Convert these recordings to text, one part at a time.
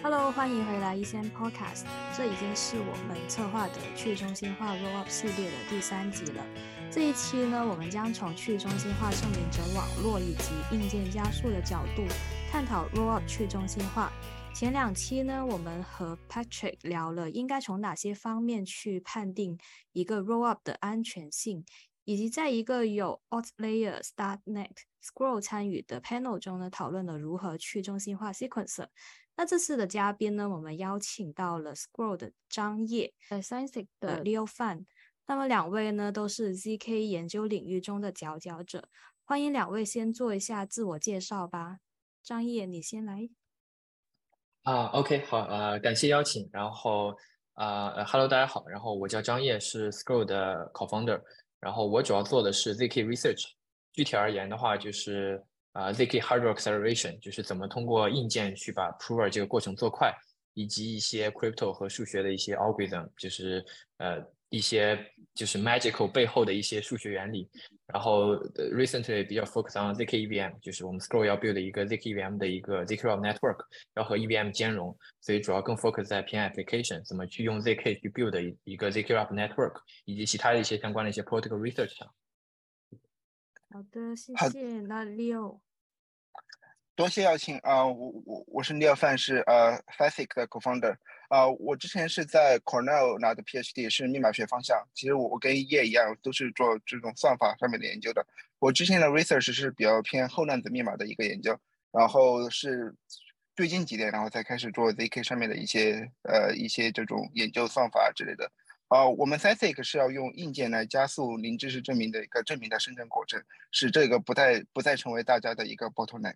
Hello，欢迎回来一仙 Podcast。这已经是我们策划的去中心化 Rollup 系列的第3集了。这一期呢，我们将从去中心化证明者网络以及硬件加速的角度探讨 Rollup 去中心化。前2期呢，我们和 Patrick 聊了应该从哪些方面去判定一个 Rollup 的安全性，以及在一个有 Altlayer、Starknet、Scroll 参与的 panel 中呢，讨论了如何去中心化 sequencer。那这次的嘉宾呢，我们邀请到了 Scroll 的张烨，Scientic 的 Leo Fan。那么2位呢，都是 ZK 研究领域中的佼佼者。欢迎2位先做一下自我介绍吧。张烨，你先来。 OK， 好，感谢邀请。然后Hello， 大家好。然后我叫张烨，是 Scroll 的 co-founder。然后我主要做的是 ZK Research。具体而言的话，就是ZK Hardware Acceleration， 就是怎么通过硬件去把 Prover 这个过程做快，以及一些 crypto 和数学的一些 algorithm， 就是一些就是 magical 背后的一些数学原理。然后recently 比较 focus on ZK EVM， 就是我们 Scroll 要 build 一个 ZK EVM 的一个 ZK Rollup Network， 要和 EVM 兼容，所以主要更 focus 在偏 application， 怎么去用 ZK 去 build 一个 ZK Rollup Network， 以及其他的一些相关的一些 protocol research 上。 好的，谢谢。那 Leo。 多谢邀请我是 Leo Fan， 是Scientic 的 co-founder。我之前是在 Cornell 拿的 PhD， 是密码学方向。其实我跟叶一样，都是做这种算法上面的研究的。我之前的 research 是比较偏后量子密码的一个研究，然后是最近几年，然后才开始做 ZK 上面的一些这种研究算法之类的。我们 Scientic 是要用硬件来加速零知识证明的一个证明的生成过程，使这个不再成为大家的一个 bottleneck。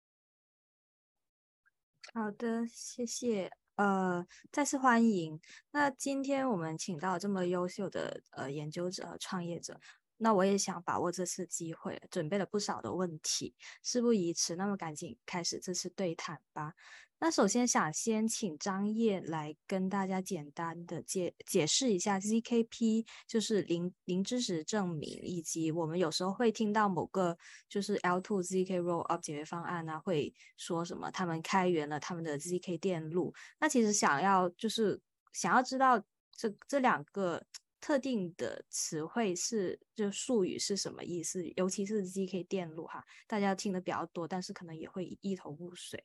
好的，谢谢。再次欢迎。那今天我们请到这么优秀的研究者和创业者，那我也想把握这次机会，准备了不少的问题。事不宜迟，那么赶紧开始这次对谈吧。那首先想先请张烨来跟大家简单的解释一下 ZKP， 就是零知识证明，以及我们有时候会听到某个就是 L2 ZK Rollup 解决方案啊，会说什么他们开源了他们的 ZK 电路。那其实想要知道这2个特定的词汇就术语是什么意思，尤其是 ZK 电路哈，大家听的比较多，但是可能也会一头雾水。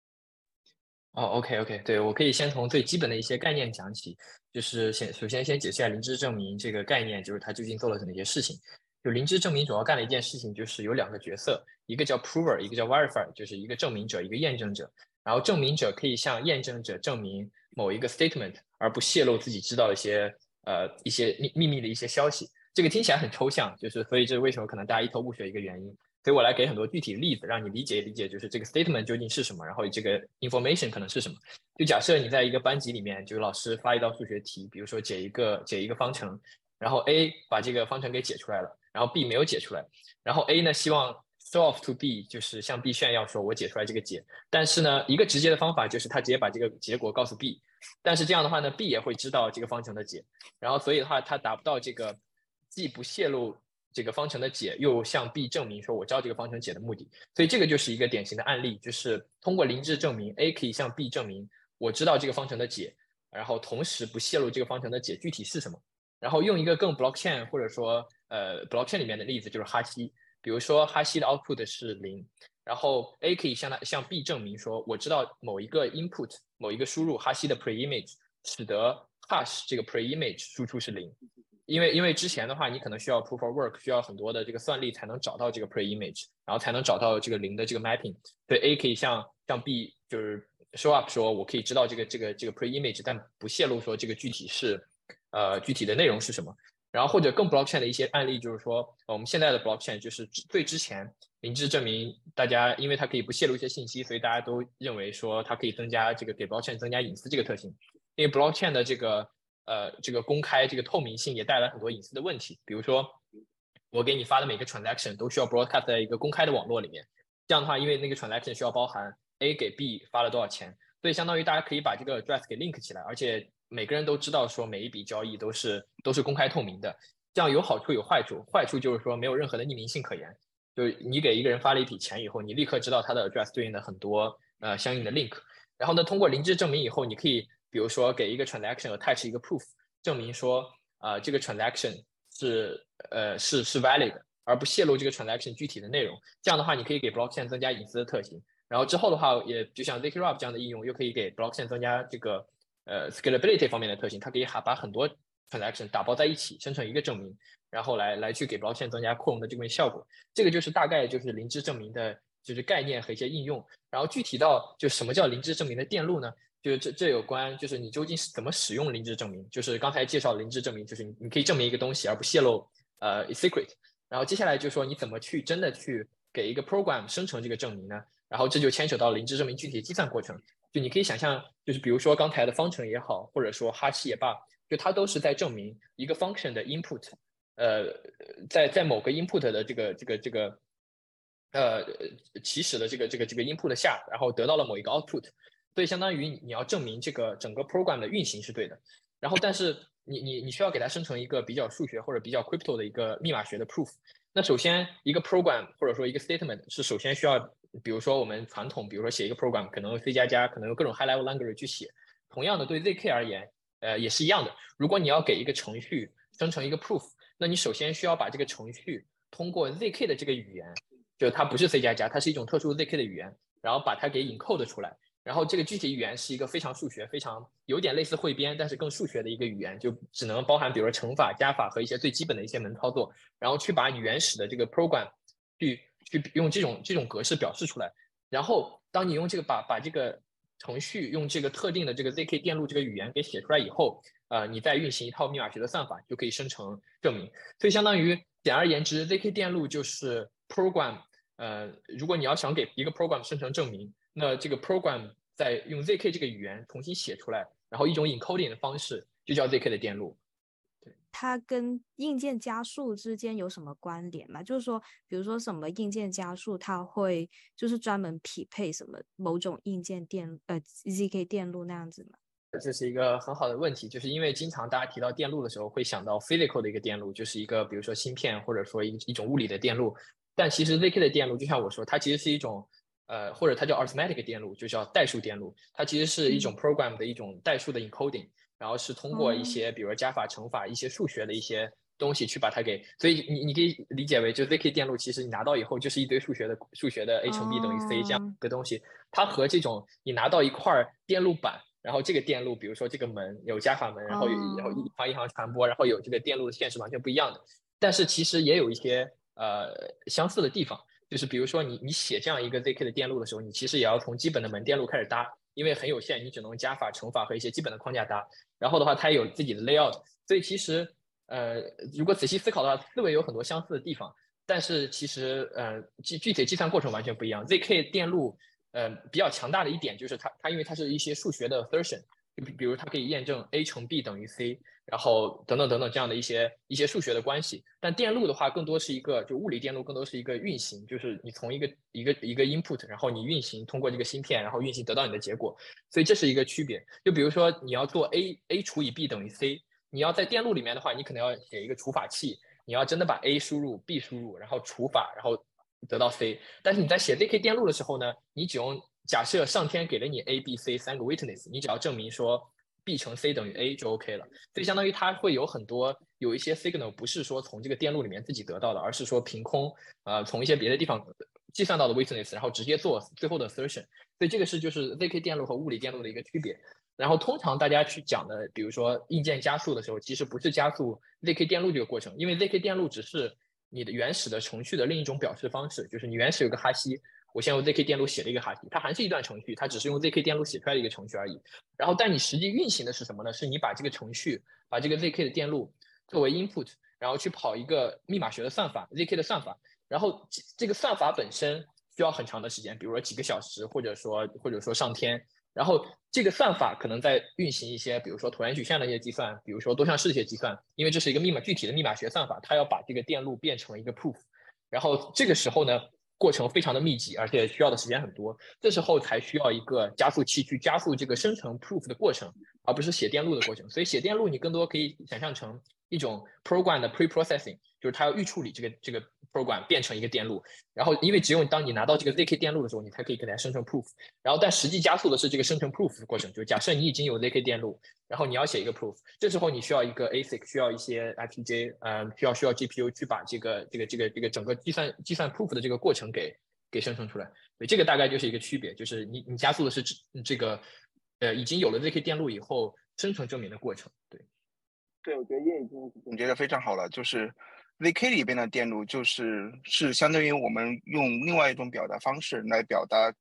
OK， 对，我可以先从最基本的一些概念讲起，就是首先解释一下零知证明这个概念，就是它究竟做了哪些事情。就零知证明主要干的一件事情，就是有2个角色，一个叫 prover， 一个叫 verifier， 就是一个证明者，一个验证者。然后证明者可以向验证者证明某一个 statement， 而不泄露自己知道的一些秘密的一些消息。这个听起来很抽象，所以这是为什么可能大家一头雾水一个原因。所以我来给很多具体的例子，让你理解，就是这个 statement 究竟是什么，然后这个 information 可能是什么。就假设你在一个班级里面，就是老师发一道数学题，比如说解一个方程，然后 A 把这个方程给解出来了，然后 B 没有解出来，然后 A 呢希望 show off to B， 就是向 B 炫耀说我解出来这个解，但是呢一个直接的方法就是他直接把这个结果告诉 B， 但是这样的话呢 B 也会知道这个方程的解，然后所以的话他达不到这个既不泄露这个方程的解，又向 B 证明说我知道这个方程解的目的。所以这个就是一个典型的案例，就是通过零知证明 A 可以向 B 证明我知道这个方程的解，然后同时不泄露这个方程的解具体是什么。然后用一个更 blockchain 或者说blockchain 里面的例子，就是哈希，比如说哈希的 output 是0，然后 A 可以向 B 证明说我知道某一个 input 某一个输入哈希的 preimage 使得 hash 这个 preimage 输出是0。因为之前的话，你可能需要 proof of work， 需要很多的这个算力才能找到这个 preimage， 然后才能找到这个0的这个 mapping。所以 A 可以向 B 就是 show up 说，我可以知道这个 preimage， 但不泄露说这个具体的内容是什么。然后或者更 blockchain 的一些案例，就是说我们现在的 blockchain 就是最之前零知证明，大家因为它可以不泄露一些信息，所以大家都认为说它可以增加这个给 blockchain 增加隐私这个特性。因为 blockchain 的这个公开这个透明性也带来很多隐私的问题，比如说我给你发的每个 transaction 都需要 broadcast 在一个公开的网络里面，这样的话因为那个 transaction 需要包含 A 给 B 发了多少钱，所以相当于大家可以把这个 address 给 link 起来，而且每个人都知道说每一笔交易都是公开透明的，这样有好处有坏处。坏处就是说没有任何的匿名性可言，就是你给一个人发了一笔钱以后，你立刻知道他的 address 对应的很多相应的 link， 然后呢，通过零知证明以后，你可以比如说给一个 transaction attach 一个 proof，证明说这个 transaction 是 valid 的，而不泄露这个 transaction 具体的内容。这样的话，你可以给 blockchain 增加隐私的特性。然后之后的话，也就像 zkRub 这样的应用，又可以给 blockchain 增加这个scalability 方面的特性。它可以把很多 transaction 打包在一起，生成一个证明，然后来去给 blockchain 增加扩容的这个效果。这个就是大概就是零知证明的就是概念和一些应用。然后具体到就什么叫零知证明的电路呢？就是这有关就是你究竟是怎么使用零知证明。就是刚才介绍零知证明，就是你可以证明一个东西而不泄露secret。然后接下来就是说你怎么去真的去给一个 program 生成这个证明呢？然后这就牵扯到零知证明具体的计算过程。就你可以想象，就是比如说刚才的方程也好，或者说哈希也罢，就它都是在证明一个 function 的 input，在某个 input 的这个起始的这个 input 下，然后得到了某一个 output，所以相当于你要证明这个整个 program 的运行是对的。然后但是你需要给它生成一个比较数学或者比较 crypto 的一个密码学的 proof。那首先一个 program 或者说一个 statement 是首先需要，比如说我们传统，比如说写一个 program 可能用 C++，可能用各种 high level language 去写。同样的对 zk 而言，也是一样的。如果你要给一个程序生成一个 proof，那你首先需要把这个程序通过 zk 的这个语言，就它不是 C++，它是一种特殊 zk 的语言，然后把它给 encode 出来。然后这个具体语言是一个非常数学、非常有点类似汇编，但是更数学的一个语言，就只能包含比如说乘法、加法和一些最基本的一些门操作，然后去把你原始的这个 program 去用这种格式表示出来。然后当你用这个把这个程序用这个特定的这个 zk 电路这个语言给写出来以后，你再运行一套密码学的算法，就可以生成证明。所以相当于简而言之 ，zk 电路就是 program。如果你要想给一个 program 生成证明，那这个 program 再用 zk 这个语言重新写出来，然后一种 encoding 的方式，就叫 zk 的电路。 它跟硬件加速之间有什么关联吗？就是说，比如说什么硬件加速，它会就是专门匹配什么某种硬件zk 电路那样子吗？ 这是一个很好的问题，就是因为经常大家提到电路的时候，会想到 physical 的一个电路，就是一个比如说芯片或者说一种物理的电路。但其实 zk 的电路，就像我说，它其实是一种或者它叫 arithmetic 电路，就叫代数电路。它其实是一种 program 的一种代数的 encoding，然后是通过一些比如加法、乘法、一些数学的一些东西去把它给，所以你可以理解为，就 zk 电路其实你拿到以后就是一堆数学的 a 乘 b 等于 c 这样一个东西。它和这种你拿到一块电路板，然后这个电路，比如说这个门有加法门，然后一行一行传播，然后有这个电路的线是完全不一样的。但是其实也有一些相似的地方，就是比如说你写这样一个 zk 的电路的时候，你其实也要从基本的门电路开始搭，因为很有限，你只能加法、乘法和一些基本的框架搭。然后的话，它也有自己的 layout，所以其实如果仔细思考的话，思维有很多相似的地方，但是其实具体计算过程完全不一样。zk 电路比较强大的一点就是它因为它是一些数学的 assertion， 就比如它可以验证 a 乘 b 等于 c， 然后等等等等这样的一些数学的关系。但电路的话更多是一个，就物理电路更多是一个运行，就是你从一个 input， 然后你运行通过这个芯片，然后运行得到你的结果。所以这是一个区别。就比如说你要做 a 除以 b 等于 c， 你要在电路里面的话，你可能要写一个除法器，你要真的把 a 输入 b 输入，然后除法，然后得到 c。但是你在写 zk 电路的时候呢，你只用假设上天给了你 a b c 三个 witness， 你只要证明说 b 乘 c 等于 a 就 OK 了。所以相当于它会有一些 signal 不是说从这个电路里面自己得到的，而是说凭空从一些别的地方计算到的 witness， 然后直接做最后的 assertion。所以这个是就是 zk 电路和物理电路的一个区别。然后通常大家去讲的，比如说硬件加速的时候，其实不是加速 zk 电路这个过程，因为 zk 电路只是你的原始的程序的另一种表示方式，就是你原始有个哈希，我先用 zk 电路写了一个哈希，它还是一段程序，它只是用 zk 电路写出来的一个程序而已。然后但你实际运行的是什么呢？是你把这个程序，把这个 zk 的电路作为 input， 然后去跑一个密码学的算法 zk 的算法，然后这个算法本身需要很长的时间，比如说几个小时，或者说上天。然后这个算法可能在运行一些，比如说椭圆曲线的一些计算，比如说多项式的一些计算，因为这是一个具体的密码学算法，它要把这个电路变成一个 proof。然后这个时候呢，过程非常的密集，而且需要的时间很多，这时候才需要一个加速器去加速这个生成 proof 的过程，而不是写电路的过程。所以写电路你更多可以想象成一种 program 的 pre-processing，就是它要预处理这个 program 变成一个电路，然后因为只有当你拿到这个 zk 电路的时候，你才可以给它生成 proof，然后但实际加速的是这个生成 proof 的过程，就假设你已经有 zk 电路，然后你要写一个 proof， 这时候你需要一个 ASIC， 需要一些 FPGA，需要 GPU 去把这个整个计算 proof 的这个过程给生成出来。对，这个大概就是一个区别，就是你加速的是这个已经有了 zk 电路以后生成证明的过程。 对，我觉得叶已经总结的非常好了，就是 zk 里边的电路是相当于我们用另外一种表达方式来表达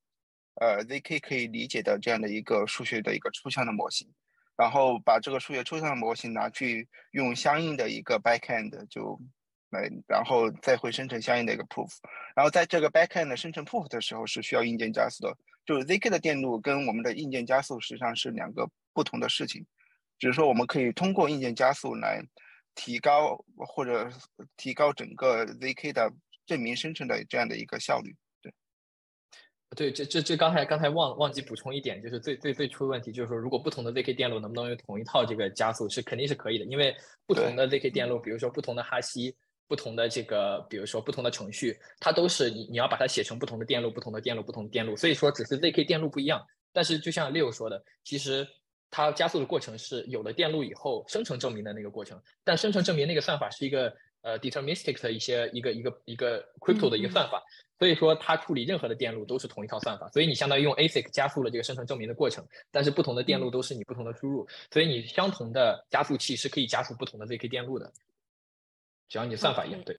zk 可以理解的这样的一个数学的一个抽象的模型，然后把这个数学抽象的模型拿去用相应的一个 backend 然后再会生成相应的一个 proof， 然后在这个 backend 生成 proof 的时候是需要硬件加速的，就是 zk 的电路跟我们的硬件加速实际上是两个不同的事情，只是说我们可以通过硬件加速来提高整个 zk 的证明生成的这样的一个效率。 对，这刚才忘记补充一点，就是最初的问题就是说，如果不同的 zk 电路能不能用同一套这个加速，肯定是可以的，因为不同的 zk 电路，比如说不同的哈希，不同的这个，比如说不同的程序，它都是你要把它写成不同的电路，不同的电路，不同的电路，所以说只是 zk 电路不一样。但是就像 Leo 说的，其实它加速的过程是有了电路以后生成证明的那个过程，但生成证明那个算法是一个deterministic 的一个 crypto 的一个算法，所以说它处理任何的电路都是同一套算法，所以你相当于用 ASIC 加速了这个生成证明的过程，但是不同的电路都是你不同的输入，所以你相同的加速器是可以加速不同的 zk 电路的，只要你算法一样。对。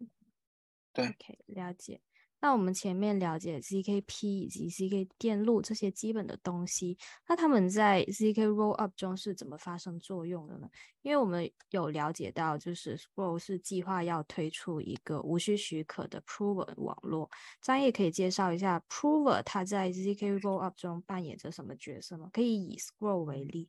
OK， 了解。那我们前面了解 ZKP 以及 ZK 电路这些基本的东西，那他们在 ZK Rollup 中是怎么发生作用的呢？因为我们有了解到，就是 Scroll 是计划要推出一个无需许可的 Prover 网络。张毅可以介绍一下 Prover 它在 ZK Rollup 中扮演着什么角色吗？可以以 Scroll 为例。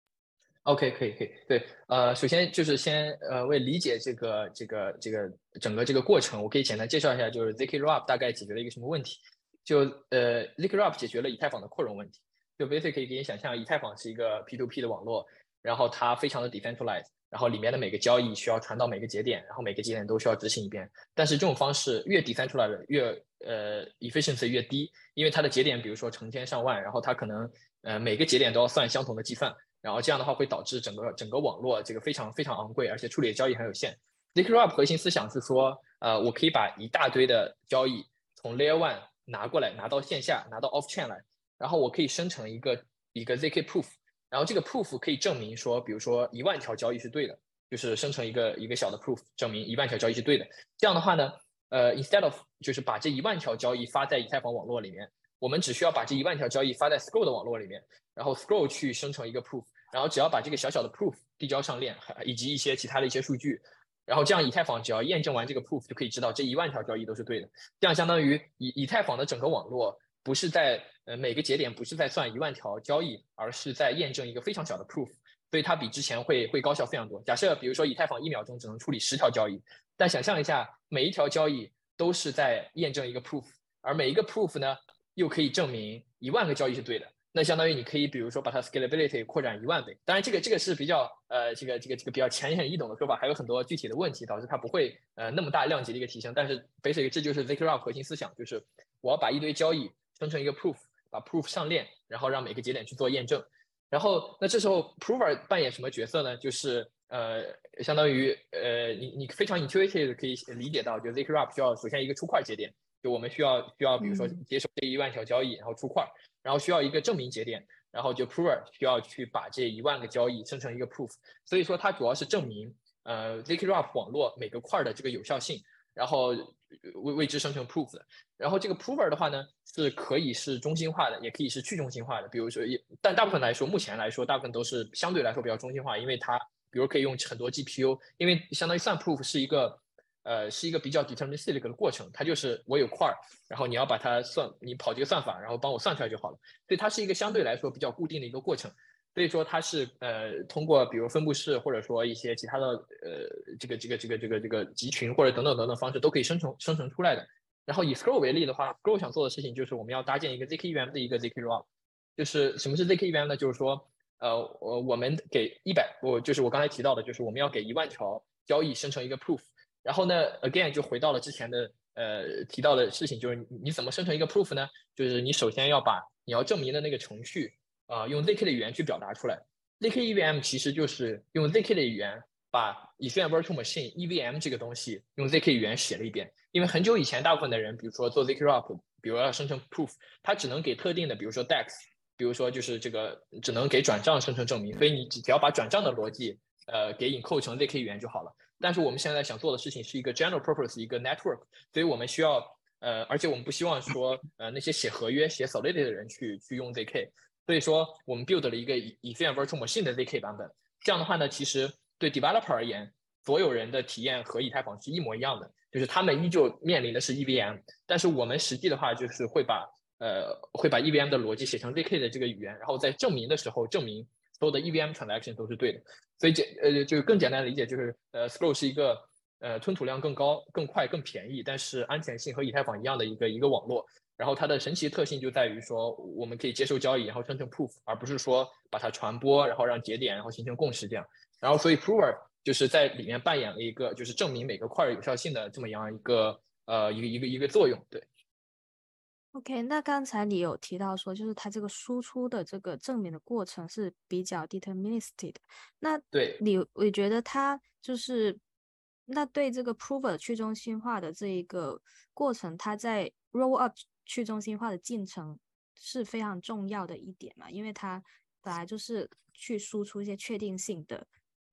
OK， 可以，对，首先就是为理解这个整个这个过程，我可以简单介绍一下，就是 zk Rollup 大概解决了一个什么问题？就zk Rollup 解决了以太坊的扩容问题。就 basically 可以给你想象，以太坊是一个 P2P 的网络，然后它非常的 decentralized， 然后里面的每个交易需要传到每个节点，然后每个节点都需要执行一遍。但是这种方式越 decentralized 越efficiency 越低，因为它的节点比如说成千上万，然后它可能每个节点都要算相同的计算。然后这样的话会导致整个网络这个非常昂贵，而且处理的交易很有限。zk Rollup 核心思想是说，我可以把一大堆的交易从 Layer 1拿过来，拿到线下，拿到 Off Chain 来，然后我可以生成一个zk Proof， 然后这个 Proof 可以证明说，比如说10000条交易是对的，就是生成一个小的 Proof， 证明10000条交易是对的。这样的话呢，instead of 就是把这10000条交易发在以太坊网络里面，我们只需要把这10000条交易发在 Scroll 的网络里面，然后 Scroll 去生成一个 Proof。然后只要把这个小小的 proof 递交上链，以及一些其他的一些数据，然后这样以太坊只要验证完这个 proof 就可以知道这10000条交易都是对的。这样相当于以太坊的整个网络不是在每个节点不是在算10000条交易，而是在验证一个非常小的 proof， 所以它比之前会高效非常多。假设比如说以太坊1秒钟只能处理10条交易，但想象一下每一条交易都是在验证一个 proof， 而每一个 proof 呢又可以证明10000个交易是对的。那相当于你可以比如说把它 scalability 扩展10000倍，当然这个是比较这个比较浅显易懂的说法，还有很多具体的问题导致它不会那么大量级的一个提升。但是 basically 这就是 zk Rollup 核心思想，就是我要把一堆交易生成一个 proof， 把 proof 上链，然后让每个节点去做验证。然后那这时候 prover 扮演什么角色呢？就是相当于你非常 intuitive 可以理解到，就 zk Rollup 需要首先一个出块节点，就我们需要比如说接受这10000条交易，然后出块。然后需要一个证明节点，然后就 prover 需要去把这10000个交易生成一个 proof， 所以说它主要是证明zk Rollup 网络每个块的这个有效性，然后为之生成 proof 的。然后这个 prover 的话呢，是可以是中心化的，也可以是去中心化的。比如说，但大部分来说，目前来说，大部分都是相对来说比较中心化，因为它比如可以用很多 GPU， 因为相当于算 proof 是一个比较 deterministic 的过程，它就是我有块，然后你要把它算，你跑这个算法，然后帮我算出来就好了。所以它是一个相对来说比较固定的一个过程。所以说它是通过比如分布式或者说一些其他的这个集群或者等等方式都可以生成出来的。然后以 Scroll 为例的话 ，Scroll 想做的事情就是我们要搭建一个 zkEVM 的一个 zk Rollup。就是什么是 zkEVM 呢？就是说我们给就是我刚才提到的，就是我们要给10000条交易生成一个 proof。然后呢 ，again 就回到了之前的提到的事情，就是你怎么生成一个 proof 呢？就是你首先要把你要证明的那个程序用 ZK 的语言去表达出来。ZK EVM 其实就是用 ZK 的语言把 Ethereum Virtual Machine EVM 这个东西用 ZK 语言写了一遍。因为很久以前，大部分的人，比如说做 ZK-ROP，比如要生成 proof，它只能给特定的，比如说 DEX，比如说就是这个只能给转账生成证明，所以你只要把转账的逻辑给encode成 ZK 语言就好了。但是我们现在想做的事情是一个 general purpose， 一个 network， 所以我们需要而且我们不希望说那些写合约、写 Solidity 的人去用 ZK， 所以说我们 build 了一个Ethereum Virtual Machine 的 ZK 版本。这样的话呢，其实对 developer 而言，所有人的体验和以太坊是一模一样的，就是他们依旧面临的是 EVM， 但是我们实际的话就是会把 EVM 的逻辑写成 ZK 的这个语言，然后在证明的时候证明所有的 EVM transaction 都是对的。所以就更简单的理解就是Scroll 是一个吞吐量更高、更快、更便宜，但是安全性和以太坊一样的一个网络。然后它的神奇特性就在于说，我们可以接受交易，然后生成 proof， 而不是说把它传播，然后让节点，然后形成共识这样。然后所以 prover 就是在里面扮演了一个就是证明每个块有效性的这么样一个作用。对。 OK，那刚才你有提到说，就是它这个输出的这个证明的过程是比较 deterministic 的。那对， 我觉得它就是那对这个 prover 去中心化的这一个过程，它在 roll up 去中心化的进程是非常重要的一点嘛，因为它本来就是去输出一些确定性的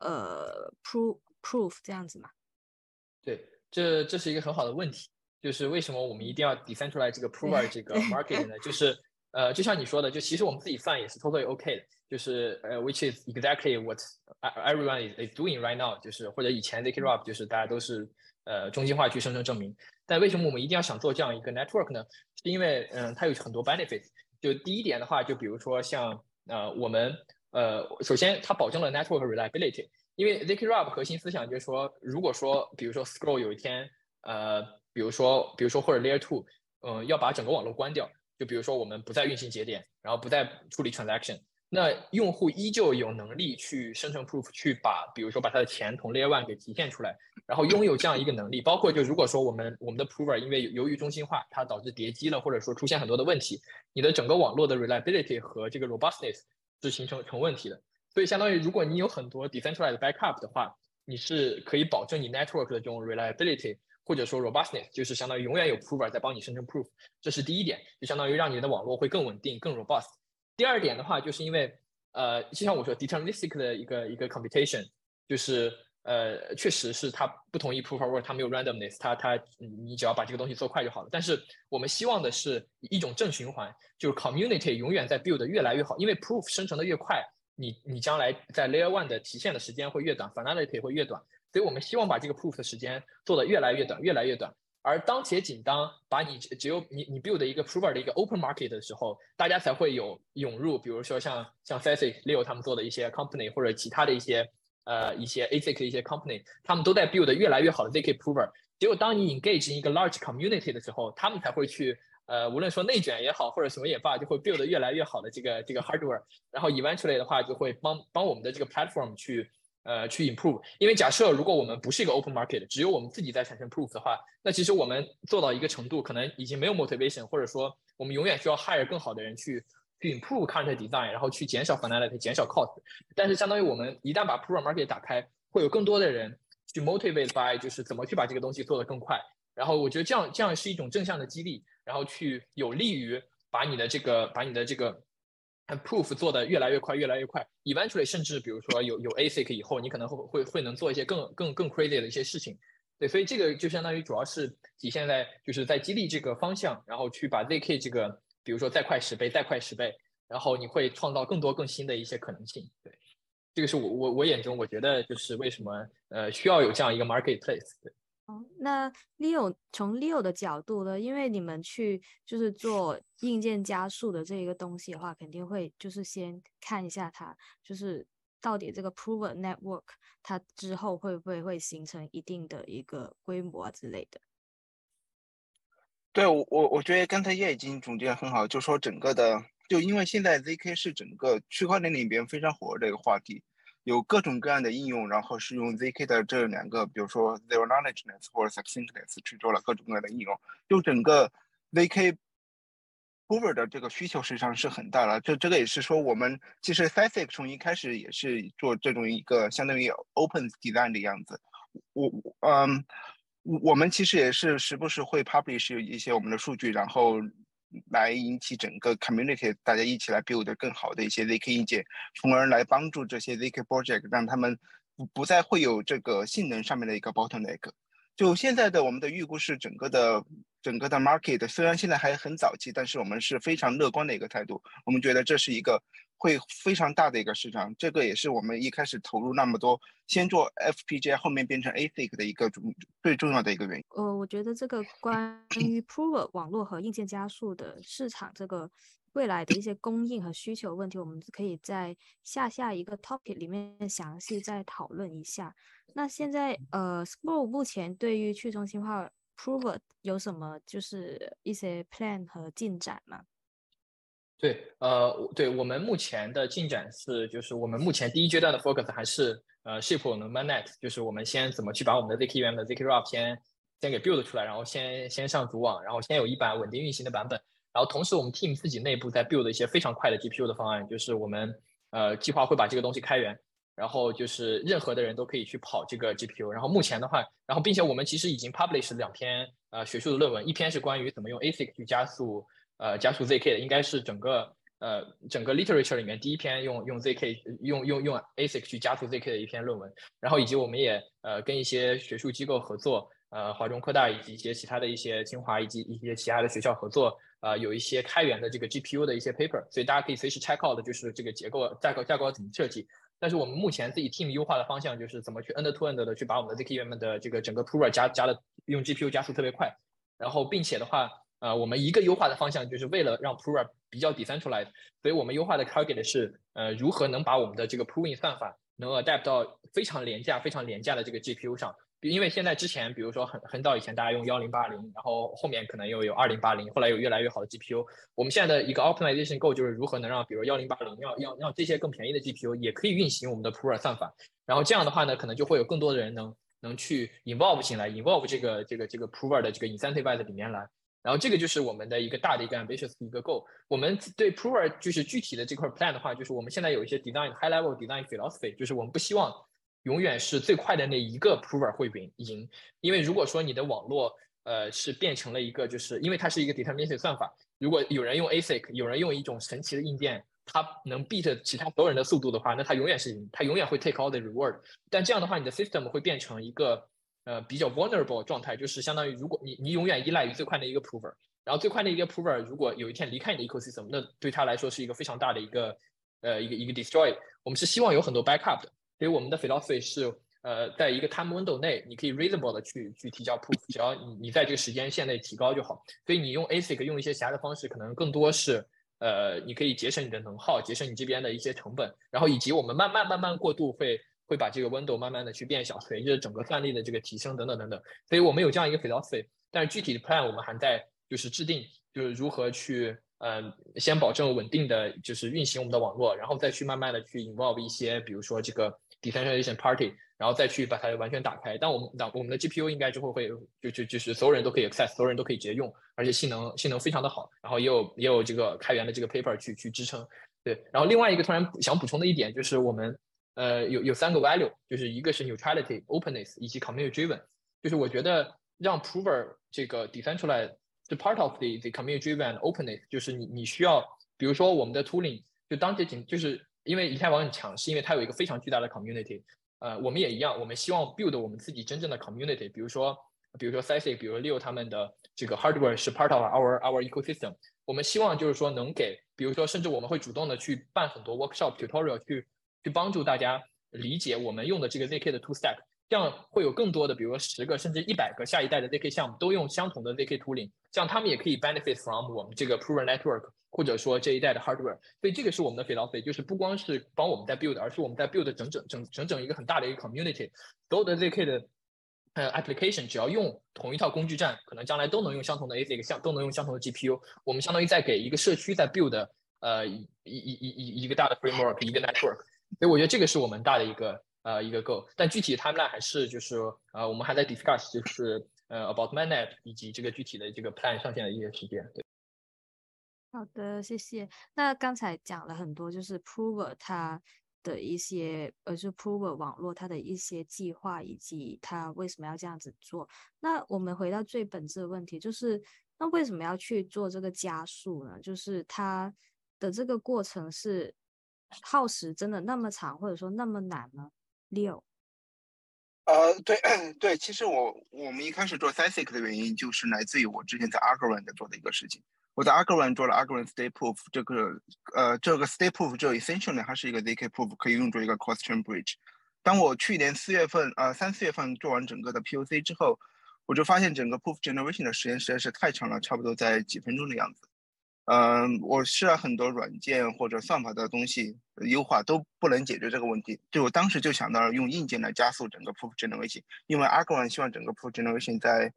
proof 这样子嘛。 对，这是一个很好的问题，就是为什么我们一定要 decentralize 这个 prover 这个 market 呢？就是就像你说的，就其实我们自己算也是 totally OK 的，就是which is exactly what everyone is doing right now， 就是或者以前 ZK-ROP 就是大家都是中心化去生成证明，但为什么我们一定要想做这样一个 network 呢？是因为它有很多 benefits。就第一点的话，就比如说像我们首先它保证了 network reliability。因为 ZK-ROP 核心思想就是说，如果说比如说 Scroll 有一天比如说或者 Layer 2要把整个网络关掉，就比如说我们不再运行节点，然后不再处理 transaction， 那用户依旧有能力去生成 proof， 去比如说把他的钱从 Layer 1给提现出来，然后拥有这样一个能力。包括就如果说我们的 prover 因为由于中心化它导致叠机了，或者说出现很多的问题，你的整个网络的 reliability 和这个 robustness 是形成问题的。所以相当于如果你有很多 decentralized backup 的话，你是可以保证你 network 的这种 reliability 或者说 robustness， 就是相当于永远有 prover 在帮你生成 proof， 这是第一点，就相当于让你的网络会更稳定、更 robust。第二点的话，就是因为就像我说 deterministic 的一个 computation， 就是确实是它不同意 proof of work， 它没有 randomness， 你只要把这个东西做快就好了。但是我们希望的是一种正循环，就是 community 永远在 build 越来越好，因为 proof 生成的越快，你将来在 Layer 1的提现的时间会越短 ，finality 会越短，所以我们希望把这个 proof 的时间做得越来越短，越来越短。而当且仅当把只有你 build 一个 prover 的一个 open market 的时候，大家才会有涌入，比如说像 Fasic、Leo 他们做的一些 company 或者其他的一些ASIC 的一些 company， 他们都在 build 越来越好的 ZK prover。只有当你 engage in 一个 large community 的时候，他们才会去无论说内卷也好，或者什么也罢，就会 build 越来越好的这个 hardware， 然后 eventually 的话就会帮我们的这个 platform去 improve。因为假设如果我们不是一个 open market， 只有我们自己在产生 proof 的话，那其实我们做到一个程度，可能已经没有 motivation， 或者说我们永远需要 hire 更好的人去 improve content design， 然后去减少 finality， 减少 cost。但是相当于我们一旦把 proof market 打开，会有更多的人去 motivate by 就是怎么去把这个东西做得更快。然后我觉得这样是一种正向的激励，然后去有利于把你的这个 proof 做得越来越快，越来越快。Eventually， 甚至比如说有 ASIC 以后，你可能会能做一些更 crazy 的一些事情。对，所以这个就相当于主要是体现在就是在激励这个方向，然后去把 ZK 这个比如说再快10倍，再快10倍，然后你会创造更多更新的一些可能性。对，这个是我眼中我觉得就是为什么需要有这样一个 marketplace。对。 那 从 Leo 的角度呢，因为你们去就是做硬件加速的这一个东西的话，肯定会就是先看一下它就是到底这个 proven network 它之后会不会形成一定的一个规模啊之类的。 对，我觉得刚才叶已经总结得很好，就说整个的，就因为现在 ZK 是整个区块链里边非常火的一个话题， 有各种各样的应用，然后是用 ZK 的这两个，比如说 Zero Knowledgeness 或者 Succinctness 去做了各种各样的应用，就整个 ZK Prover 的这个需求实际上是很大了。这个也是说，我们其实 Sithic 从一开始也是做这种一个相当于 Open Design 的样子。我们其实也是时不时会 publish 一些我们的数据，然后来引起整个 community 大家一起来 build 更好的一些 ZK 硬件，从而来帮助这些 ZK project 让他们不再会有这个性能上面的一个 bottleneck。就现在的我们的预估是整个的 market 虽然现在还很早期，但是我们是非常乐观的一个态度。我们觉得这是一个会非常大的一个市场，这个也是我们一开始投入那么多，先做 FPGA， 后面变成 ASIC 的一个最重要的一个原因。 我觉得这个关于 Prover 网络和硬件加速的市场，这个未来的一些供应和需求问题，我们可以在下一个 topic 里面详细再讨论一下。那现在Scroll 目前对于去中心化 Prover 有什么就是一些 plan 和进展吗？ 对，我们目前的进展是，就是我们目前第一阶段的 focus 还是ship 我们 mainnet，就是我们先怎么去把我们的 ZKVM 的 ZK-ROP 先给 build 出来，然后先上组网，然后先有一版稳定运行的版本，然后同时我们 team 自己内部在 build 一些非常快的 GPU 的方案，就是我们计划会把这个东西开源，然后就是任何的人都可以去跑这个 GPU，然后目前的话，然后并且我们其实已经 publish 2篇学术的论文，一篇是关于怎么用 ASIC 去加速 ZK 的，应该是整个 literature 里面第一篇用 ZK 用 ASIC 去加速 ZK 的一篇论文，然后以及我们也跟一些学术机构合作，华中科大以及一些其他的一些清华以及一些其他的学校合作，有一些开源的这个 GPU 的一些 paper， 所以大家可以随时 check out 的就是这个架构怎么设计。但是我们目前自己 team 优化的方向就是怎么去 end-to-end 的去把我们的 ZKVM 的这个整个 prover 加的用 GPU 加速特别快，然后并且的话，我们一个优化的方向就是为了让 prover 比较 decentralized， 所以我们优化的 target 是如何能把我们的这个 proving 算法能 adapt 到非常廉价的这个 GPU 上。因为现在之前，比如说很早以前大家用1080，然后后面可能又有2080，后来有越来越好的 GPU。我们现在的一个 optimization goal 就是如何能让，比如1080要这些更便宜的 GPU 也可以运行我们的 prover 算法。然后这样的话呢，可能就会有更多的人能去 involve 进来 ，involve 这个 prover 的这个 incentive 里面来。然后这个就是我们的一个大的一个 ambitious 的一个 goal。我们对 prover 就是具体的这块 plan 的话，就是我们现在有一些 high level design philosophy， 就是我们不希望永远是最快的那一个 prover 会赢，因为如果说你的网络是变成了一个，就是因为它是一个 deterministic 算法，如果有人用 ASIC， 有人用一种神奇的硬件，它能 beat 其他所有人的速度的话，那它永远是赢，它永远会 take all the reward。但这样的话，你的 system 会变成一个比较 vulnerable 状态，就是相当于如果你永远依赖于最快的一个 prover， 然后最快的一个 prover 如果有一天离开你的 ecosystem， 那对他来说是一个非常大的一个destroy。我们是希望有很多 backup 的。所以我们的 philosophy 是，在一个 time window 内，你可以 reasonable 的去提交 proof， 只要你在这个时间线内提高就好。所以你用 ASIC 用一些其他的方式，可能更多是，你可以节省你的能耗，节省你这边的一些成本，然后以及我们慢慢过渡会把这个 window 慢慢的去变小，随着整个算力的这个提升等等。所以我们有这样一个 philosophy， 但是具体的 plan 我们还在就是制定，就是如何去。先保证稳定的就是运行我们的网络，然后再去慢慢的去 involve 一些，比如说这个 decentralization party， 然后再去把它完全打开。但我们的 GPU 应该之后会就是所有人都可以 access， 所有人都可以直接用，而且性能非常的好，然后也有这个开源的这个 paper 去支撑。对，然后另外一个突然想补充的一点就是我们有3个 value， 就是一个是 neutrality、openness 以及 community driven， 就是我觉得让 prover 这个 decentralized是 part of the community driven openness， 就是你需要，比如说我们的 tooling， 就当这就是因为以太坊很强，是因为它有一个非常巨大的 community， 我们也一样，我们希望 build 我们自己真正的 community， 比如说 Sisig， 比如 Leo 他们的这个 hardware 是 part of our ecosystem， 我们希望就是说能给，比如说甚至我们会主动的去办很多 workshop tutorial 去帮助大家理解我们用的这个 ZK 的 two stack。这样会有更多的，比如说10个甚至100个下一代的 ZK 项目都用相同的 ZK tooling， 这样他们也可以 benefit from 我们这个 prover network， 或者说这一代的 hardware。所以这个是我们的 philosophy， 就是不光是帮我们在 build， 而是我们在 build 整一个很大的一个 community， 所有的 ZK 的application 只要用同一套工具站，可能将来都能用相同的 ASIC， 都能用相同的 GPU。我们相当于在给一个社区在 build 一个大的 framework， 一个 network。 所以我觉得这个是我们大的一个 goal， 但具体 timeline 还是就是我们还在 discuss 就是about mainnet 以及这个具体的这个 plan 上线的一些时间。对， 好的，谢谢。那刚才讲了很多，就是 Prover 它的一些就 Prover 网络它的一些计划，以及它为什么要这样子做。那我们回到最本质的问题，就是那为什么要去做这个加速呢？就是它的这个过程是耗时真的那么长，或者说那么难吗？Leo。 对对，其实我们一开始做 SASIC 的原因就是来自于我之前在 Algorand 做的一个事情。我在 Algorand 做了 Algorand State Proof，这个 State Proof 就 essentially 它是一个 ZK Proof，可以用作一个 cross chain bridge。当我去年3、4月份做完整个的 POC 之后，我就发现整个 Proof Generation 的时间实在是太长了，差不多在几分钟的样子。我试了很多软件或者算法的东西优化都不能解决这个问题，就我当时就想到了用硬件来加速整个 proof generation，因为 Algorand 希望整个 proof generation 在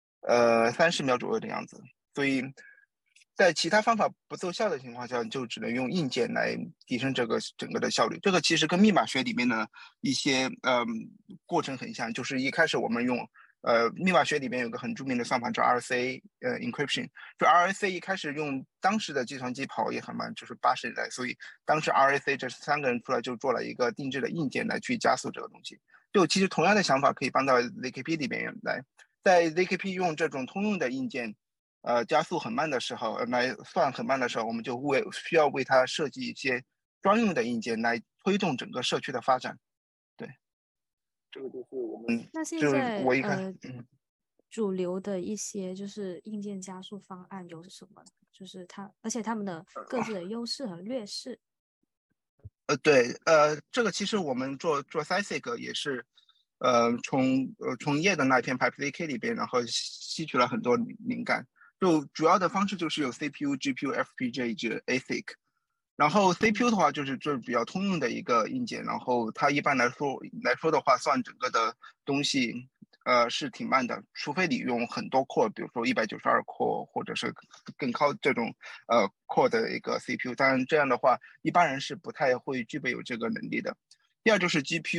30秒左右的样子，所以在其他方法不奏效的情况下，就只能用硬件来提升这个整个的效率。这个其实跟密码学里面的一些过程很像，就是一开始我们用密码学里面有个很著名的算法叫 RSA encryption， 就 RSA 一开始用当时的计算机跑也很慢，就是80年代，所以当时 RSA 这3个人出来就做了一个定制的硬件来去加速这个东西。就其实同样的想法可以搬到 ZKP 里面来，在 ZKP 用这种通用的硬件。加速很慢的时候，来算很慢的时候，我们就需要为它设计一些专用的硬件来推动整个社区的发展。对，这个就是我们， 那现就是在我一看， 主流的一些就是硬件加速方案有什么呢？就是而且他们的各自的优势和劣势。 对，这个其实我们做 SASIC 也是，从叶的那篇 PipeZK 里边，然后吸取了很多灵感。就主要的方式就是有 CPU、GPU、FPGA 以及 ASIC。然后 CPU 的话就是比较通用的一个硬件，然后它一般来说的话，算整个的东西，是挺慢的，除非你用很多 core，比如说192 core 或者是更高这种core 的一个 CPU，当然这样的话，一般人是不太会具备有这个能力的。第二就是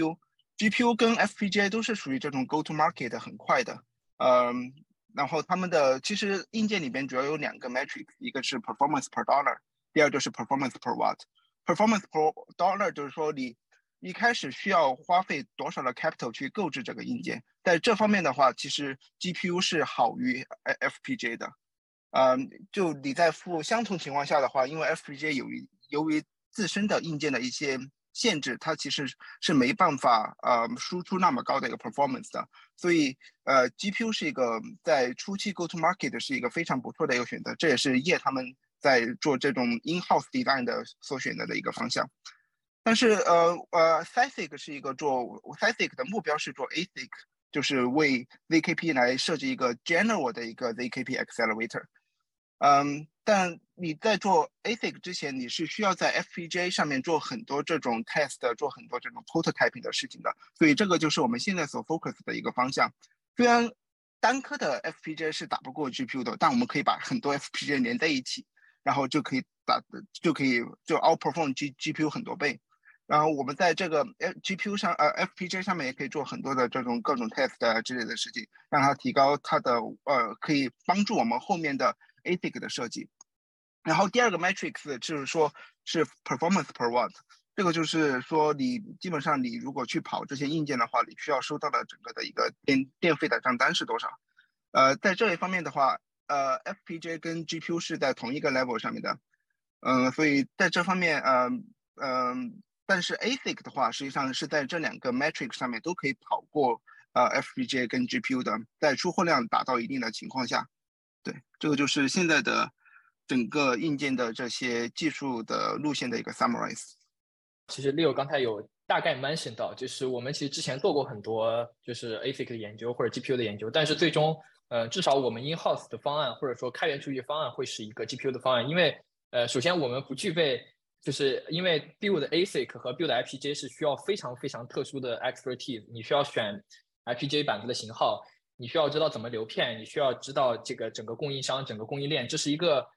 GPU 跟 FPGA 都是属于这种 go to market 很快的，嗯，然后他们的其实硬件里边主要有2个 metric， 一个是 performance per dollar。第二就是 performance per watt。performance per dollar 就是说你一开始需要花费多少的 capital 去购置这个硬件，在这方面的话，其实 GPU 是好于 FPGA 的。就你在付相同情况下的话，因为 FPGA 由于自身的硬件的一些限制，它其实是没办法输出那么高的一个 performance 的，所以GPU 是一个在初期 go to market 是一个非常不错的一个选择，这也是业他们在做这种 in-house design 的所选择的一个方向。但是SASIC 是一个SASIC 的目标是做 ASIC，就是为 ZKP 来设计一个 general 的一个 ZKP accelerator。但你在做 ASIC 之前，你是需要在 FPGA 上面做很多这种 test， 做很多这种 prototyping 的事情的，所以这个就是我们现在所 focus 的一个方向。虽然单颗的 FPGA 是打不过 GPU 的，但我们可以把很多 FPGA 连在一起，然后就可以outperform GPU 很多倍。然后我们在这个 GPU 上FPGA 上面也可以做很多的这种各种 test 之类的事情，让它提高它的可以帮助我们后面的 ASIC 的设计。然后第二个 matrix 就是说是 performance per watt， 这个就是说你基本上你如果去跑这些硬件的话，你需要收到的整个的一个电费的账单是多少？在这一方面的话，FPGA 跟 GPU 是在同一个 level 上面的，所以在这方面但是 ASIC 的话，实际上是在这2个 metric 上面都可以跑过FPGA 跟 GPU 的，在出货量达到一定的情况下。对，这个就是现在的整个硬件的这些技术的路线的一个 summarize。 其实 Leo 刚才有大概 mention 到，就是我们其实之前做过很多就是 ASIC 的研究或者 GPU 的研究，但是最终至少我们 in-house 的方案或者说开源数据方案会是一个 GPU 的方案，因为首先我们不具备，就是因为 build ASIC 和 build FPGA 是需要非常非常特殊的 expertise， 你需要选 FPGA 板子的型号，你需要知道怎么流片，你需要知道这个整个供应商整个供应链，这是一个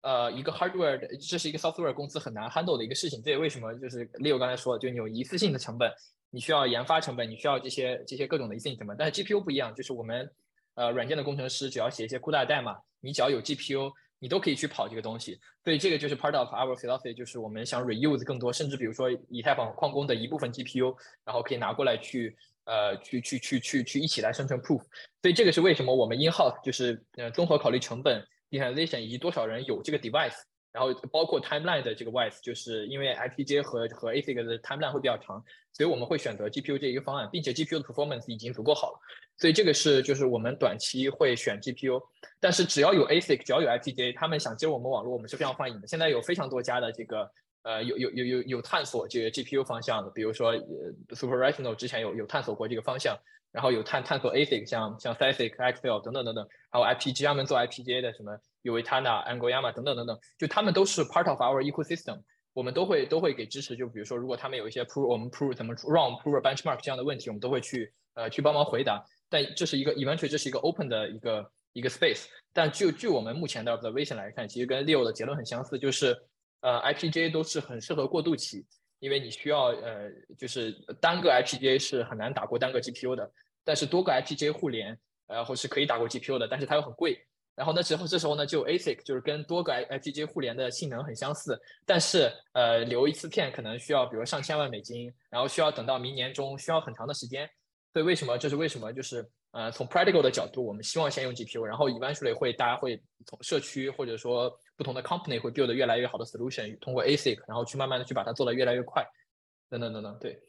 一个 hardware 的，这是一个 software 公司很难 handle 的一个事情。这也为什么就是 Leo 刚才说的，就你有一次性的成本，你需要研发成本，你需要这些各种的一次性成本。但是 GPU 不一样，就是我们软件的工程师只要写一些酷大的代码，你只要有 GPU，你都可以去跑这个东西。所以这个就是 part of our philosophy，就是我们想 reuse 更多，甚至比如说以太坊矿工的一部分 GPU，然后可以拿过来去一起来生成 proof。所以这个是为什么我们 in house 就是综合考虑成本。digitalization 以及多少人有这个 device， 然后包括 timeline 的这个 wise， 就是因为 FPGA 和 ASIC 的 timeline 会比较长，所以我们会选择 GPU 这一个方案，并且 GPU 的 performance 已经足够好了，所以这个是就是我们短期会选 GPU， 但是只要有 ASIC， 只要有 FPGA， 他们想接入我们网络，我们是非常欢迎的。现在有非常多家的这个有探索这个 GPU 方向的，比如说Super Rational 之前有探索过这个方向。然后有探索 ASIC， 像 SiSiC、Xfel 等等等等，还有 FPGA 他们做 FPGA 的什么 Uitana、Angoyama 等等等等，就他们都是 part of our ecosystem， 我们都会给支持。就比如说，如果他们有一些 我们 怎么 run prover benchmark 这样的问题，我们都会去帮忙回答。但这是一个 eventually 这是一个 open 的一个 space。但据我们目前的 observation 来看，其实跟 Leo 的结论很相似，就是FPGA 都是很适合过渡期。因为你需要就是单个 FPGA 是很难打过单个 GPU 的，但是多个 FPGA 互联，或是可以打过 GPU 的，但是它又很贵。然后这时候呢，就 ASIC 就是跟多个 FPGA 互联的性能很相似，但是留一次片可能需要比如上千万美金，然后需要等到明年中，需要很长的时间。所以这是为什么就是从 practical 的角度，我们希望先用 GPU， 然后 eventually 大家会从社区或者说不同的 company 会 build 越来越好的 solution， 通过 ASIC， 然后去慢慢的去把它做得越来越快，等等等等，对。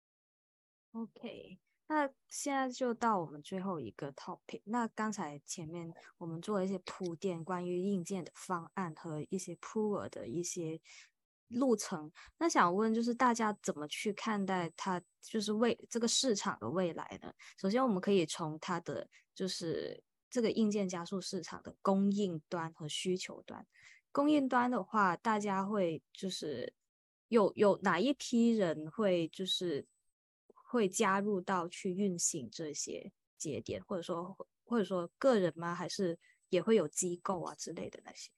OK，那现在就到我们最后一个 topic。那刚才前面我们做了一些铺垫，关于硬件的方案和一些 prover 的一些路程。那想问，就是大家怎么去看待它，就是这个市场的未来呢？首先，我们可以从它的就是这个硬件加速市场的供应端和需求端。供应端的话，大家会就是有哪一批人会就是会加入到去运行这些节点，或者说个人吗？还是也会有机构啊之类的那些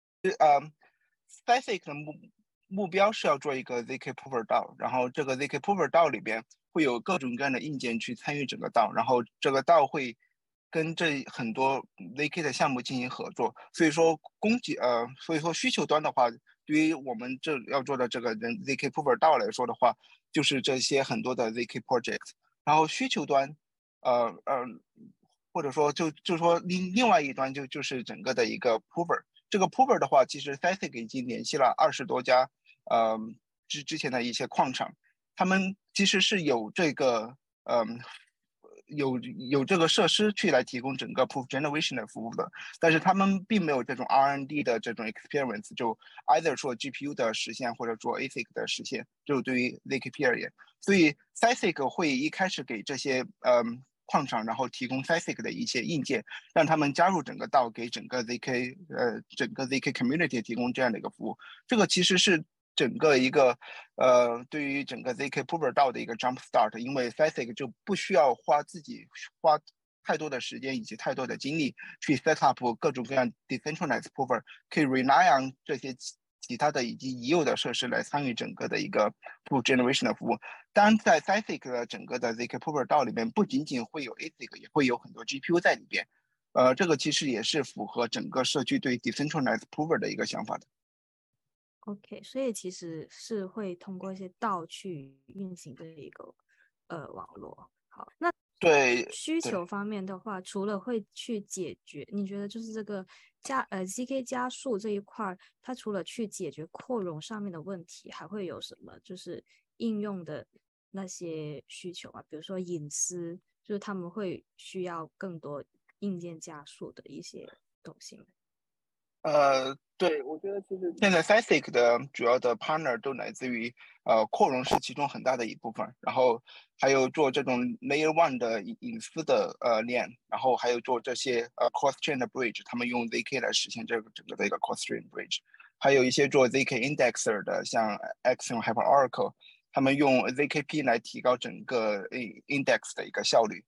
？SiSiC 的目标是要做一个 ZK Prover DAO， 然后这个 ZK Prover DAO 里边会有各种各样的硬件去参与整个 DAO， 然后这个 DAO 会跟这很多 ZK 的项目进行合作。所以说所以说需求端的话，对于我们这要做的这个ZK Prover DAO 来说的话，就是这些很多的 ZK project。然后需求端，或者说就说另外一端就是整个的一个 Prover。这个 Prover 的话，其实 SiSiC 已经联系了20多家之前的一些矿场，他们其实是有这个有这个设施去来提供整个 proof generation 的服务的，但是他们并没有这种 R&D 的这种 experience， 就 either 说 GPU 的实现或者做 ASIC 的实现，就对于 ZKP 而言，所以 SiSiC 会一开始给这些矿场，然后提供 SiSiC 的一些硬件，让他们加入整个道，给整个 ZK community 提供这样的一个服务。这个其实是整个一个对于整个 ZK Prover DAO 的一个 jump start， 因为 SiSiC 就不需要花太多的时间以及太多的精力去 set up 各种各样 decentralized Prover， 可以 rely on 这些其他的以及已有的设施来参与整个的一个 proof generation 的服务。当然，在 SiSiC 的整个的 ZK Prover DAO 里面，不仅仅会有 ASIC， 也会有很多 GPU 在里边。这个其实也是符合整个社区对 decentralized Prover 的一个想法的。 OK， 所以其实是会通过一些道去运行的一个网络。好，那对需求方面的话，除了会去解决，你觉得就是这个ZK 加速这一块，它除了去解决扩容上面的问题，还会有什么就是应用的那些需求啊？比如说隐私，就是他们会需要更多硬件加速的一些东西吗？ 对，我觉得其实现在 SiSiC 的主要的 partner 都来自于扩容是其中很大的一部分，然后还有做这种 Layer 1的隐私的链，然后还有做这些cross chain 的 bridge， 他们用 ZK 来实现这个整个的一个 cross chain bridge， 还有一些做 ZK indexer 的，像 Axiom 还有 Oracle， 他们用 ZKP 来提高整个 index 的一个效率。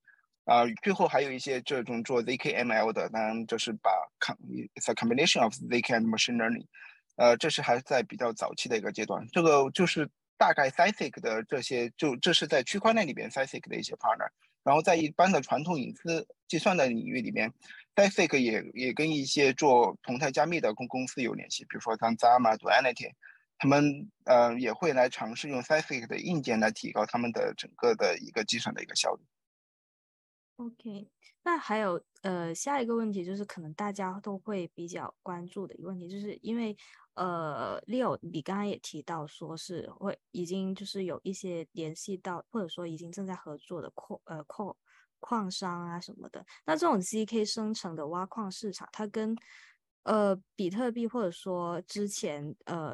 最后还有一些这种做 ZK-ML 的，当然这是it's a combination of ZK and machine learning，这是还在比较早期的一个阶段。这个就是大概 SciSig 的这些，这是在区块链里边 SciSig 的一些 partner。然后在一般的传统隐私计算的领域里面 ，SciSig 也跟一些做同态加密的公司有联系，比如说像 Zama、Duality，他们也会来尝试用 SciSig 的硬件来提高他们的整个的一个计算的一个效率。 OK，那还有下一个问题就是可能大家都会比较关注的一个问题，就是因为Leo 你刚刚也提到说是已经就是有一些联系到或者说已经正在合作的矿商啊什么的，那这种 ZK 生成的挖矿市场，它跟比特币或者说之前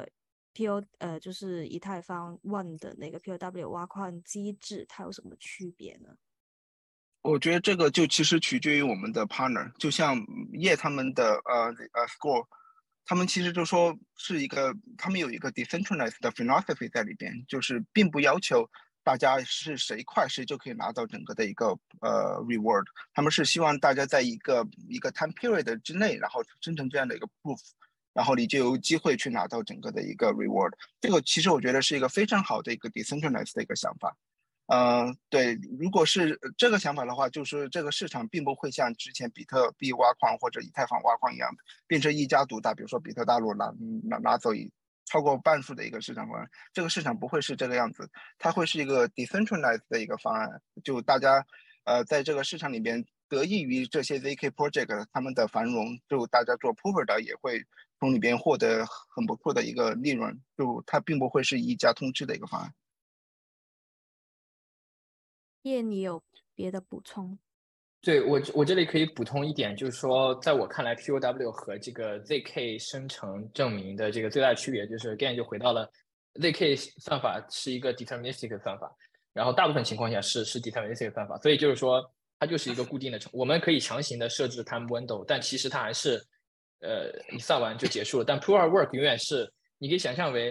就是以太坊 One 的那个 POW 挖矿机制，它有什么区别呢？ 我觉得这个就其实取决于我们的 partner，就像叶他们的Score，他们其实就说是他们有一个 decentralized 的 philosophy 在里边，就是并不要求大家是谁快谁就可以拿到整个的一个reward，他们是希望大家在一个 time period 之内，然后生成这样的一个 proof，然后你就有机会去拿到整个的一个 reward。这个其实我觉得是一个非常好的一个 decentralized 的一个想法。对，如果是这个想法的话，就是这个市场并不会像之前比特币挖矿或者以太坊挖矿一样，变成一家独大，比如说比特大陆拿走超过半数的一个市场方案。这个市场不会是这个样子，它会是一个 decentralized 的一个方案，就大家在这个市场里边得益于这些 ZK project 他们的繁荣，就大家做 prover 的也会从里边获得很不错的一个利润，就它并不会是一家通吃的一个方案。 叶，你有别的补充？ 对，我这里可以补充一点，就是说，在我看来，POW 和这个 ZK 生成证明的这个最大的区别，就是 again 就回到了 ZK 算法是一个 deterministic 的算法，然后大部分情况下是 deterministic 的算法，所以就是说它就是一个固定的我们可以强行的设置 time window，但其实它还是你算完就结束了。但 proof of work 永远是你可以想象为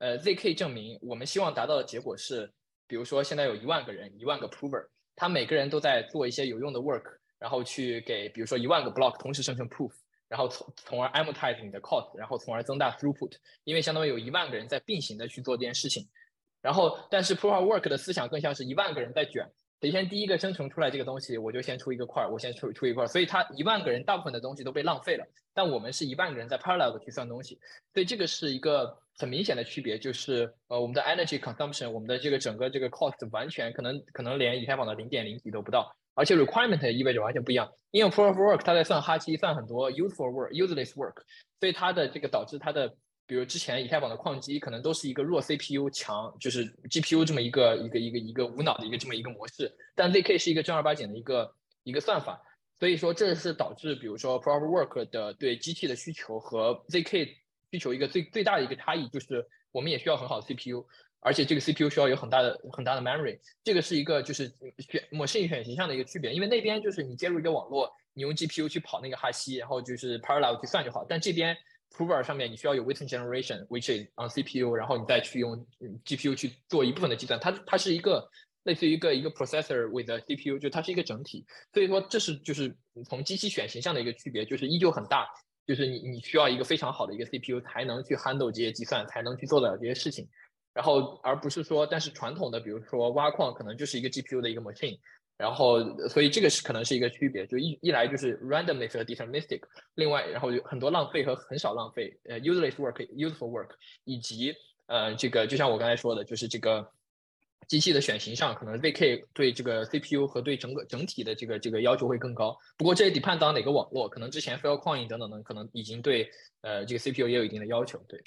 ZK 证明我们希望达到的结果是，比如说现在有10000个人，10000个 prover。他每个人都在做一些有用的 work，然后去给比如说10000个 block 同时生成 proof，然后从而 amortize 你的 cost，然后从而增大 throughput，因为相当于有10000个人在并行的去做这件事情。然后，但是 proof of work 的思想更像是10000个人在卷，谁先第一个生成出来这个东西，我就先出一个块，我先出一块，所以它10000个人大部分的东西都被浪费了，但我们是10000个人在 parallel 的去算东西，所以这个是一个很明显的区别，就是我们的 energy consumption， 我们的这个整个这个 cost 完全可能连以太坊的0.0几都不到，而且 requirement 意味着完全不一样，因为 proof of work 它在算哈希，算很多 useful work、useless work， 所以它的这个导致它的。比如之前以太坊的矿机可能都是一个弱 CPU 强，就是 GPU 这么一个无脑的这么一个模式，但 ZK 是一个正儿八经的一个算法，所以说这是导致比如说 Proof of Work 的对机器的需求和 ZK 需求一个最大的一个差异，就是我们也需要很好的 CPU， 而且这个 CPU 需要有很大的memory， 这个是一个就是machine选型上的一个区别，因为那边就是你接入一个网络，你用 GPU 去跑那个哈希，然后就是 parallel 去算就好，但这边prover 上面你需要有 witness generation，which is on CPU， 然后你再去用 GPU 去做一部分的计算，它是一个类似于一个 processor with a CPU， 就它是一个整体，所以说这是就是从机器选型上的一个区别，就是依旧很大，就是你需要一个非常好的一个 CPU 才能去 handle 这些计算，才能去做得了这些事情。然后而不是说，但是传统的比如说挖矿可能就是一个 GPU 的一个 machine，然后所以这个可能是一个区别，就一来就是 randomness 和 deterministic， 另外然后有很多浪费和很少浪费useless work、useful work， 以及这个就像我刚才说的，就是这个机器的选型上，可能 ZK 对这个 CPU 和对整体的这个要求会更高。不过这也 depend on 哪个网络，可能之前 Filecoin 等等的可能已经对这个 CPU 也有一定的要求，对。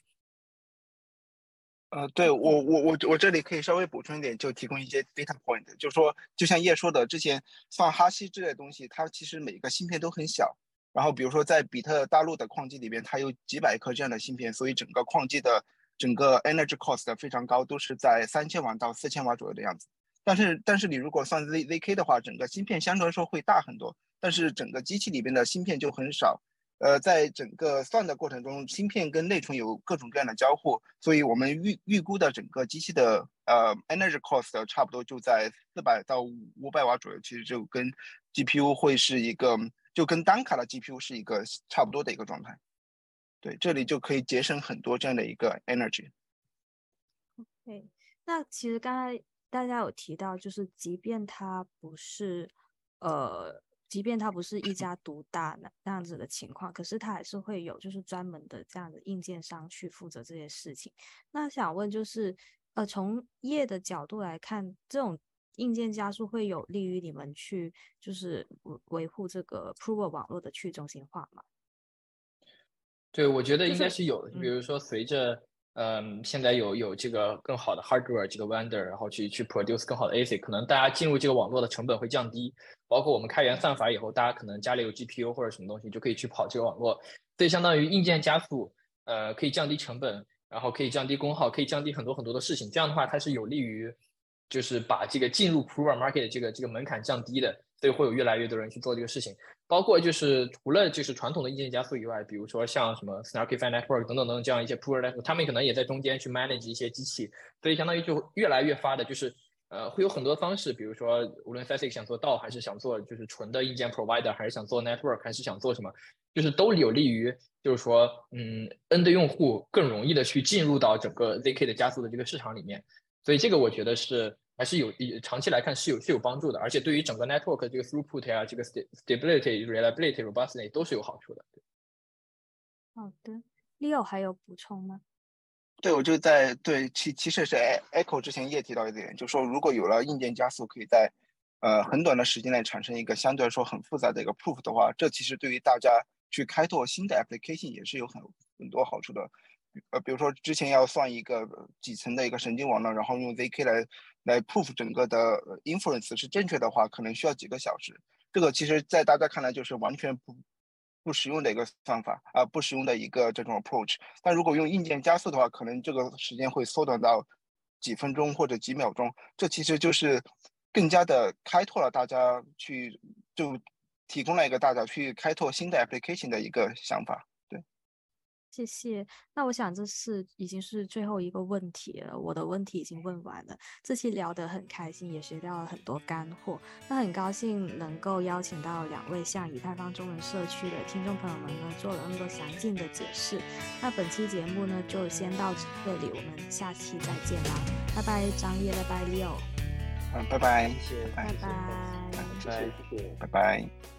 对我这里可以稍微补充一点，就提供一些 data point，就是说，就像叶说的，之前放哈希之类的东西，它其实每个芯片都很小。然后比如说在比特大陆的矿机里边，它有几百颗这样的芯片，所以整个矿机的整个 energy cost 非常高，都是在3000瓦到4000瓦左右的样子。但是你如果算 ZK 的话，整个芯片相对来说会大很多，但是整个机器里边的芯片就很少。在整个算的过程中，芯片跟内存有各种各样的交互，所以我们预估的整个机器的energy cost 差不多就在400到500瓦左右，其实就跟 GPU 会是一个就跟单卡的 GPU 是一个差不多的一个状态。对，这里就可以节省很多这样的一个 energy。 对，那其实刚才大家有提到，就是即便它不是一家独大那样子的情况，可是它还是会有就是专门的这样的硬件商去负责这些事情。那想问就是，从业的角度来看，这种硬件加速会有利于你们去就是维护这个 Proof 网络的去中心化吗？ 对，我觉得应该就是是有的。比如说，随着现在有这个更好的 hardware 这个 vendor，然后去 produce 更好的 ASIC，可能大家进入这个网络的成本会降低。包括我们开源算法以后，大家可能家里有 GPU 或者什么东西，就可以去跑这个网络。所以相当于硬件加速，可以降低成本，然后可以降低功耗，可以降低很多很多的事情。这样的话，它是有利于就是把这个进入 Proof Market 的这个门槛降低的。所以会有越来越多人去做这个事情。包括就是除了就是传统的硬件加速以外，比如说像什么 Snarkify Network 等等等等这样一些 Proof Network，他们可能也在中间去 manage 一些机器，所以相当于就越来越发的就是会有很多方式，比如说无论 FASIC 想做道，还是想做就是纯的硬件 provider， 还是想做 network， 还是想做什么，就是都有利于就是说N 的用户更容易的去进入到整个 ZK 的加速的这个市场里面。所以这个我觉得是还是长期来看是有帮助的，而且对于整个 network 这个 throughput 呀，这个 stability、reliability、robustness 都是有好处的。 好的，Leo 还有补充吗？ 对，我就其实是 Echo 之前也提到一点，就是说如果有了硬件加速，可以在很短的时间内产生一个相对来说很复杂的一个 proof 的话，这其实对于大家去开拓新的 application 也是有很多好处的。比如说之前要算一个几层的一个神经网络，然后用 ZK 来 proof 整个的 inference 是正确的话，可能需要几个小时。这个其实在大家看来就是完全不实用的一个算法不实用的一个这种 approach。但如果用硬件加速的话，可能这个时间会缩短到几分钟或者几秒钟。这其实就是更加的开拓了大家就提供了一个大家去开拓新的 application 的一个想法。对， 谢谢。那我想这已经是最后一个问题了，我的问题已经问完了。这期聊得很开心，也学到了很多干货。那很高兴能够邀请到2位向以太坊中文社区的听众朋友们呢，做了那么多详尽的解释。那本期节目呢，就先到这里，我们下期再见啦，拜拜张烨，拜拜 Leo。 拜拜， 谢谢， 拜拜， 拜拜， 拜拜。